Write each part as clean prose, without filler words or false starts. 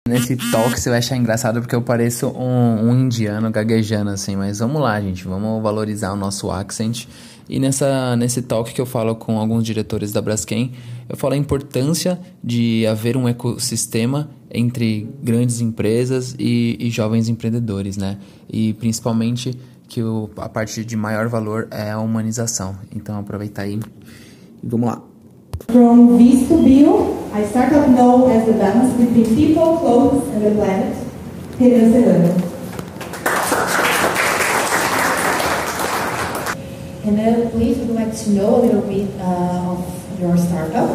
Nesse talk você vai achar engraçado porque eu pareço um indiano gaguejando assim, mas vamos lá, gente, vamos valorizar o nosso accent. E nesse talk que eu falo com alguns diretores da Braskem, eu falo a importância de haver um ecossistema entre grandes empresas e jovens empreendedores, né? E principalmente que a parte de maior valor é a humanização. Então aproveitar aí e vamos lá. From Vis to Bio, a startup known as the balance between people, clothes and the planet, Renan Serrano. Renan, please, would like to know a little bit of your startup,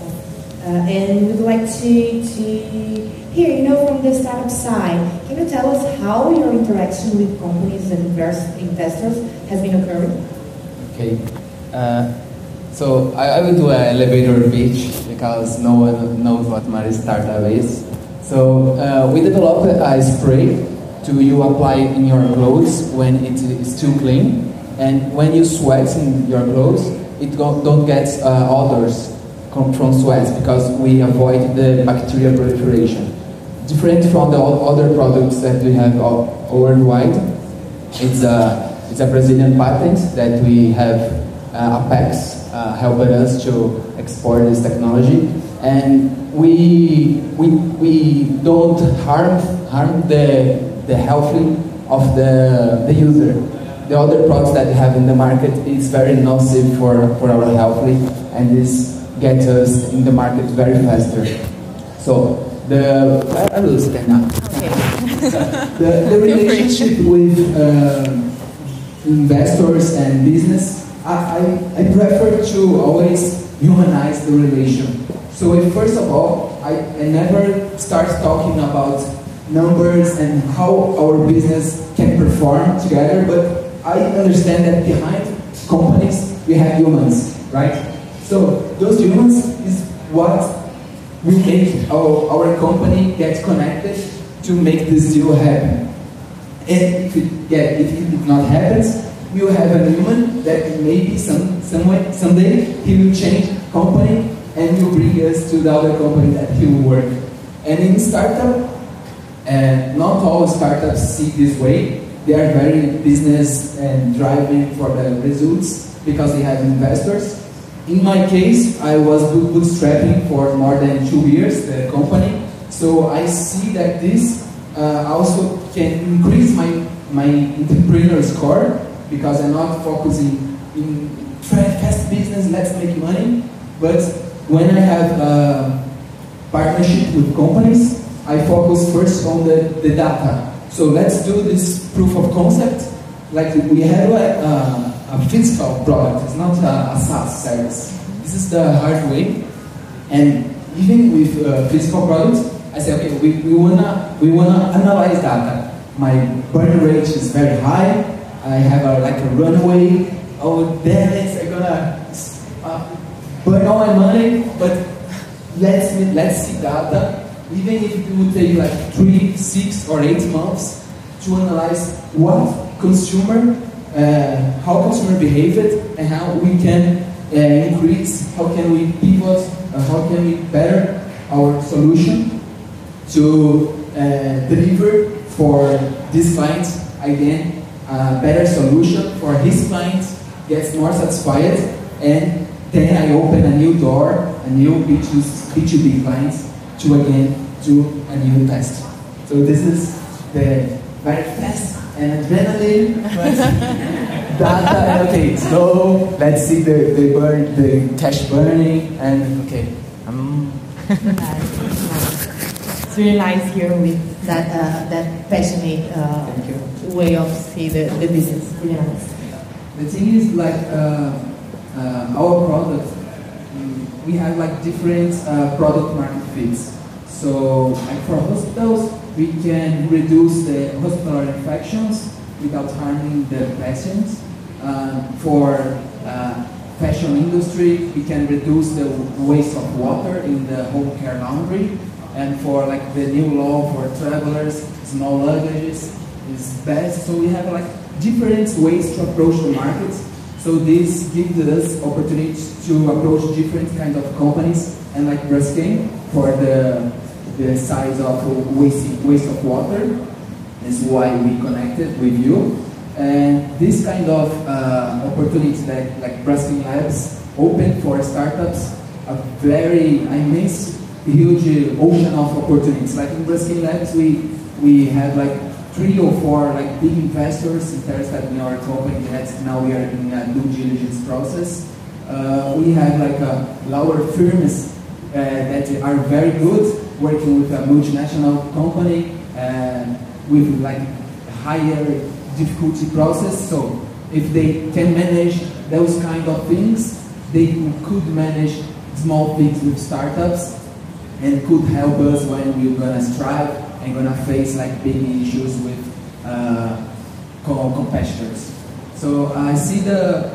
and we'd like to hear, from the startup side, can you tell us how your interaction with companies and investors has been occurring? Okay. So I will do an elevator pitch because no one knows what my startup is. So we developed a spray to you apply in your clothes when it is too clean, and when you sweat in your clothes, it don't get odors from sweat because we avoid the bacterial proliferation. Different from the other products that we have worldwide. It's a Brazilian patent that we have Apex helping us to export this technology, and we don't harm the health of the user. The other products that we have in the market is very nocive for our health, and this gets us in the market very faster. So I will stand now. Okay. the relationship with investors and business. I prefer to always humanize the relation. So first of all, I never start talking about numbers and how our business can perform together, but I understand that behind companies we have humans, right? So those humans is what will make our company get connected to make this deal happen. And if it not happens, we will have a human that maybe someday he will change company and will bring us to the other company that he will work. And in startup, not all startups see this way. They are very business and driving for the results because they have investors. In my case, I was bootstrapping for more than 2 years, the company. So I see that this also can increase my entrepreneur score, because I'm not focusing in fast business, let's make money. But when I have a partnership with companies, I focus first on the data. So let's do this proof of concept. Like we have a physical product, it's not a SaaS service. This is the hard way. And even with physical products, I say, okay, we wanna analyze data. My burn rate is very high. I have a runway. Oh damn it! I'm gonna burn all my money. But let's see data. Even if it would take like 3, 6, or 8 months to analyze what consumer, how consumer behaved, and how we can increase, how can we pivot, how can we better our solution to deliver for this client again a better solution for his clients, gets more satisfied, and then I open a new door, a new B2B clients to again do a new test. So this is the very fast and adrenaline data, and okay, so let's see the cash burning, and okay. It's really nice here with that passionate way of see the business. Really nice. The thing is, like our product, we have like different product market fits. So like for hospitals, we can reduce the hospital infections without harming the patients. For fashion industry, we can reduce the waste of water in the home care laundry. And for like the new law for travelers, small luggages is best. So we have like different ways to approach the market. So this gives us opportunity to approach different kind of companies, and like Braskem for the the size of waste of water. That's why we connected with you. And this kind of opportunities that like Braskem Labs open for startups are very immense, huge ocean of opportunities. Like in Braskem Labs, we have like 3 or 4 like big investors interested in our company. That now we are in a due diligence process. We have like lower firms that are very good working with a multinational company with like higher difficulty process. So if they can manage those kind of things, they could manage small things with startups and could help us when we're gonna strive and gonna face like big issues with competitors. So I see the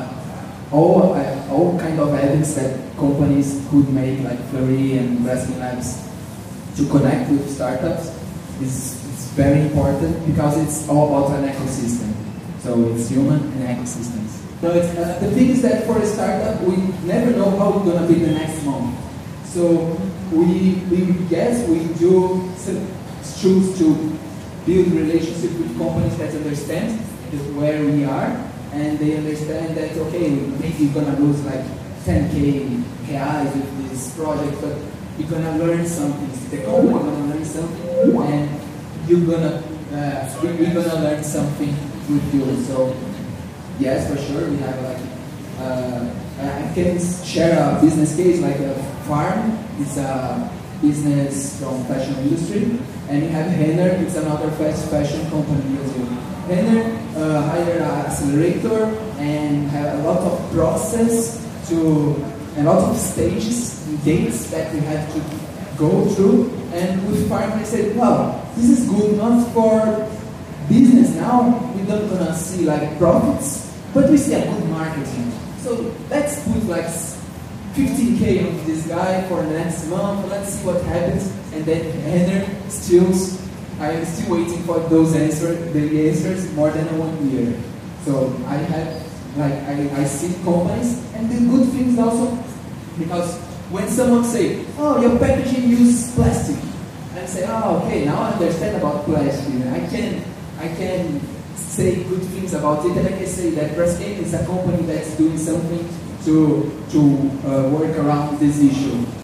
all kind of evidence that companies could make, like Fleury and Braskem Labs, to connect with startups is very important because it's all about an ecosystem. So it's human and ecosystems. So it's, the thing is that for a startup, we never know how it's gonna be the next month. So we guess we do choose to build relationship with companies that understand where we are, and they understand that, okay, maybe you're gonna lose like 10K reais with this project, but you're gonna learn something. The company gonna learn something, and you're gonna we're gonna learn something with you. So yes, for sure, we have like I can share a business case like a farm. It's a business from fashion industry, and you have Renner. It's another fast fashion company in Brazil. Renner hired an accelerator and have a lot of process to a lot of stages and gates that we have to go through. And with farm, they said, "Wow, this is good not for business now. We're not gonna see like profits, but we see a good marketing. So let's put like 15K of this guy for next month. Let's see what happens." And then Renner I am still waiting for those answers more than 1 year. So I have like I see companies and the good things also, because when someone say, "Oh, your packaging uses plastic," I say, "Oh, okay, now I understand about plastic. I can say good things about it, and I can say that Braskem is a company that's doing something to work around this issue."